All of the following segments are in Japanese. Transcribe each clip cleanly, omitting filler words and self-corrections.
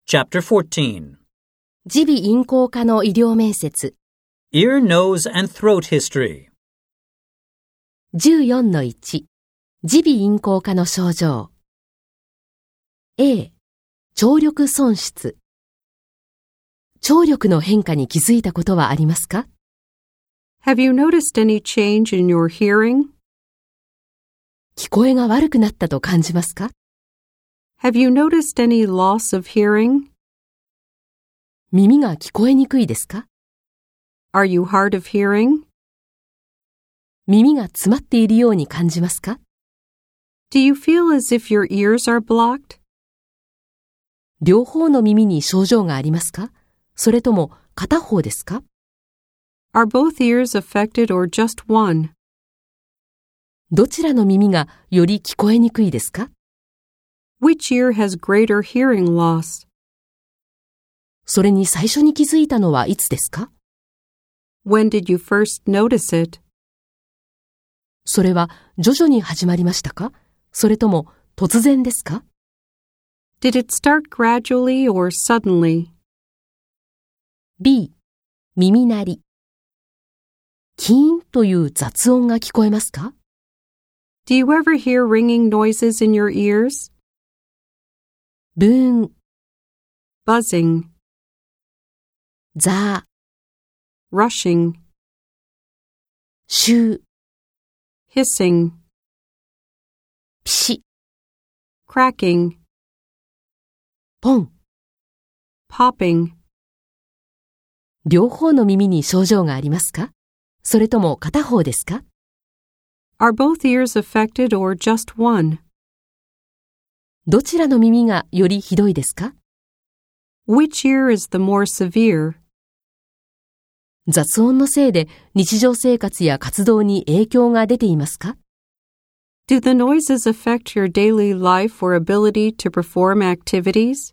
Chapter 14. 耳鼻咽喉科の医療面接 Ear, Nose, and Throat History. 14-1 耳鼻咽喉科の症状 A. 聴力損失聴力の変化に気づいたことはありますか？ Have you noticed any change in your hearing? 聞こえが悪くなったと感じますか？ Have you noticed any loss of hearing? 耳が聞こえにくいですか？ Are you hard of hearing? 耳が詰まっているように感じますか？ Do you feel as if your ears are blocked? 両方の耳に症状がありますか？それとも片方ですか？ Are both ears affected or just one? どちらの耳がより聞こえにくいですか？ Which ear has greater hearing loss? それに最初に気づいたのはいつですか？ When did you first notice it? それは徐々に始まりましたか？それとも突然ですか？ Did it start gradually or suddenly? B. 耳鳴りキーンという雑音が聞こえますか？ Do you ever hear ringing noises in your ears? ブーン、 Buzzing, ザー、 rushing, シュー、 hissing, ピシ、 cracking, ポン。 popping. 両方の耳に症状がありますか？それとも片方ですか？ Are both ears affected or just one? どちらの耳がよりひどいですか？ Which ear is the more severe? 雑音のせいで日常生活や活動に影響が出ていますか？ Do the noises affect your daily life or ability to perform activities?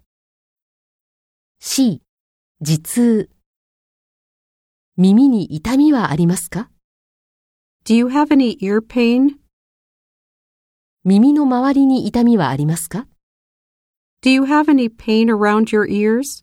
C. 頭痛耳に痛みはありますか？ Do you have any ear pain? 耳の周りに痛みはありますか？ Do you have any pain around your ears?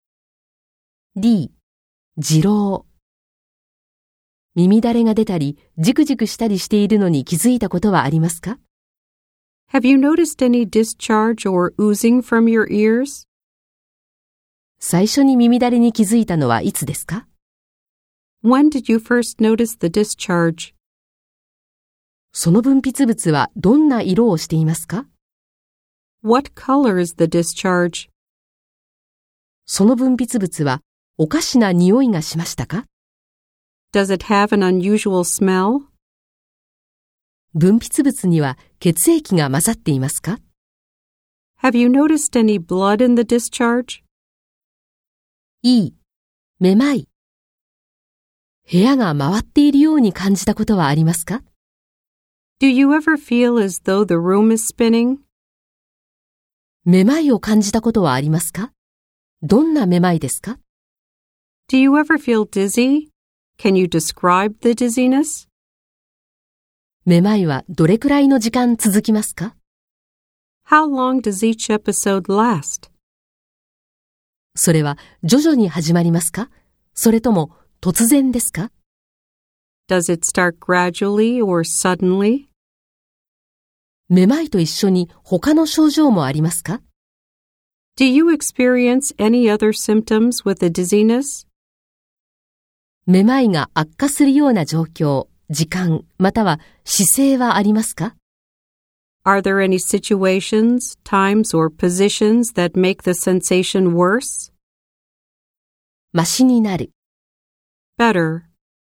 D. 痔瘻耳だれが出たりジクジクしたりしているのに気づいたことはありますか？ Have you noticed any discharge or oozing from your ears? 最初に耳だれに気づいたのはいつですか？ When did you first notice the discharge? その分泌物はどんな色をしていますか？ What color is the discharge? その分泌物はおかしな匂いがしましたか？ Does it have an unusual smell? 分泌物には血液が混ざっていますか？ Have you noticed any blood in the discharge? E. めまい部屋が回っているように感じたことはありますか？ Do you ever feel as though the room is spinning? めまいを感じたことはありますか？どんなめまいですか？ Do you ever feel dizzy? Can you describe the dizziness? めまいはどれくらいの時間続きますか？ How long does each episode last? それは徐々に始まりますか？それとも突然ですか？ Does it start gradually or suddenly? めまいと一緒に他の症状もありますか？ Do you experience any other symptoms with the dizziness? めまいが悪化するような状況、時間、または姿勢はありますか？ Are there any situations, times, or positions that make the sensation worse? マシになる。 Better.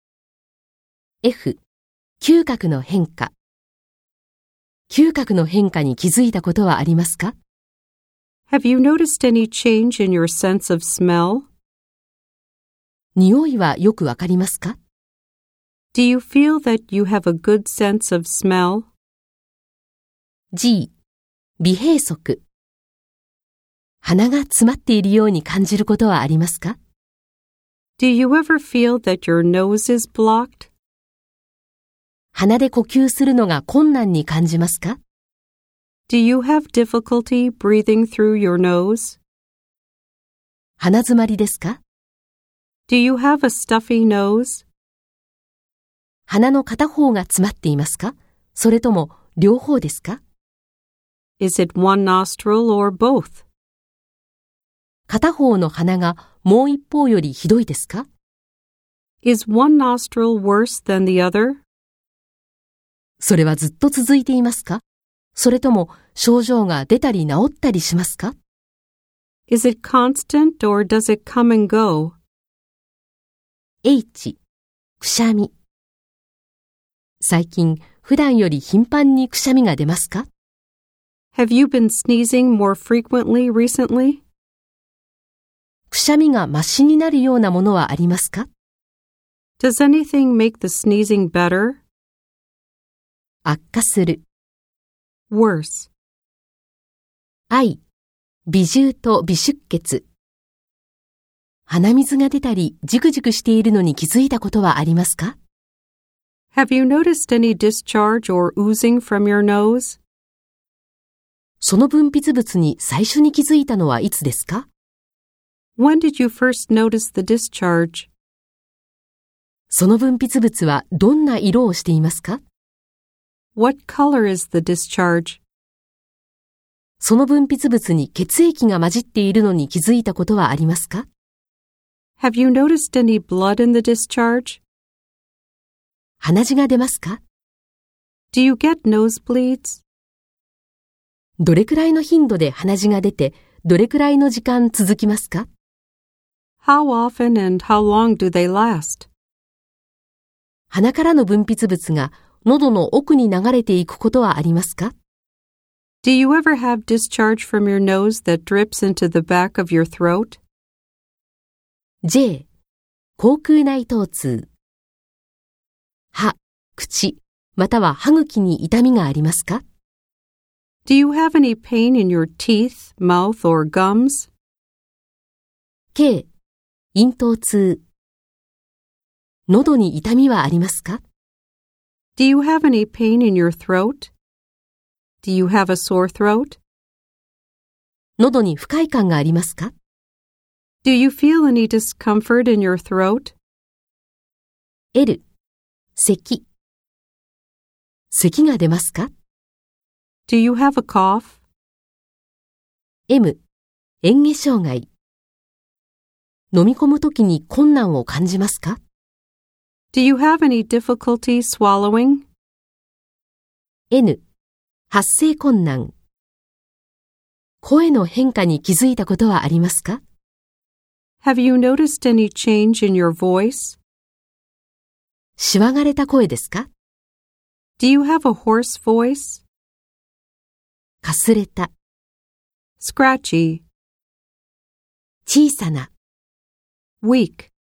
F. 嗅覚の変化。嗅覚の変化に気づいたことはありますか？ Have you noticed any change in your sense of smell? 匂いはよくわかりますか？ Do you feel that you have a good sense of smell? G. 鼻閉塞鼻が詰まっているように感じることはありますか？ Do you ever feel that your nose is blocked? 鼻で呼吸するのが困難に感じますか？ Do you have difficulty breathing through your nose? 鼻詰まりですか？ Do you have a stuffy nose? 鼻の片方が詰まっていますか？それとも両方ですか？ Is it one nostril or both? 片方の鼻がもう一方よりひどいですか？ Is one nostril worse than the other? それはずっと続いていますか？それとも症状が出たり治ったりしますか？ Is it constant or does it come and go? H、くしゃみ。最近、普段より頻繁にくしゃみが出ますか？ Have you been sneezing more frequently recently? くしゃみがマシになるようなものはありますか？ Does anything make the sneezing better? 悪化する。 Worse. I、鼻汁と微出血。鼻水が出たり、ジクジクしているのに気づいたことはありますか？ Have you noticed any discharge or oozing from your nose? その分泌物に最初に気づいたのはいつですか？ When did you first notice the discharge? その分泌物はどんな色をしていますか？ What color is the discharge? その分泌物に血液が混じっているのに気づいたことはありますか？ Have you noticed any blood in the discharge? 鼻血が出ますか？ Do you get nosebleeds? どれくらいの頻度で鼻血が出て、どれくらいの時間続きますか？ How often and how long do they last? 鼻からの分泌物が喉の奥に流れていくことはありますか？ Do you ever have discharge from your nose that drips into the back of your throat? J、口腔内疼痛。歯、口、または歯茎に痛みがありますか？ Do you have any pain in your teeth, mouth, or gums? K、咽頭痛。喉に痛みはありますか？ Do you have any pain in your throat? Do you have a sore throat? 喉に不快感がありますか？ Do you feel any discomfort in your throat? L、咳。咳が出ますか？ Do you have a cough? M、嚥下障害。飲み込むときに困難を感じますか？ Do you have any difficulty swallowing? N、発声困難。声の変化に気づいたことはありますか？ Have you noticed any change in your voice? しわがれた声ですか？ Do you have a hoarse voice? かすれた。 Scratchy. 小さな。 Weak.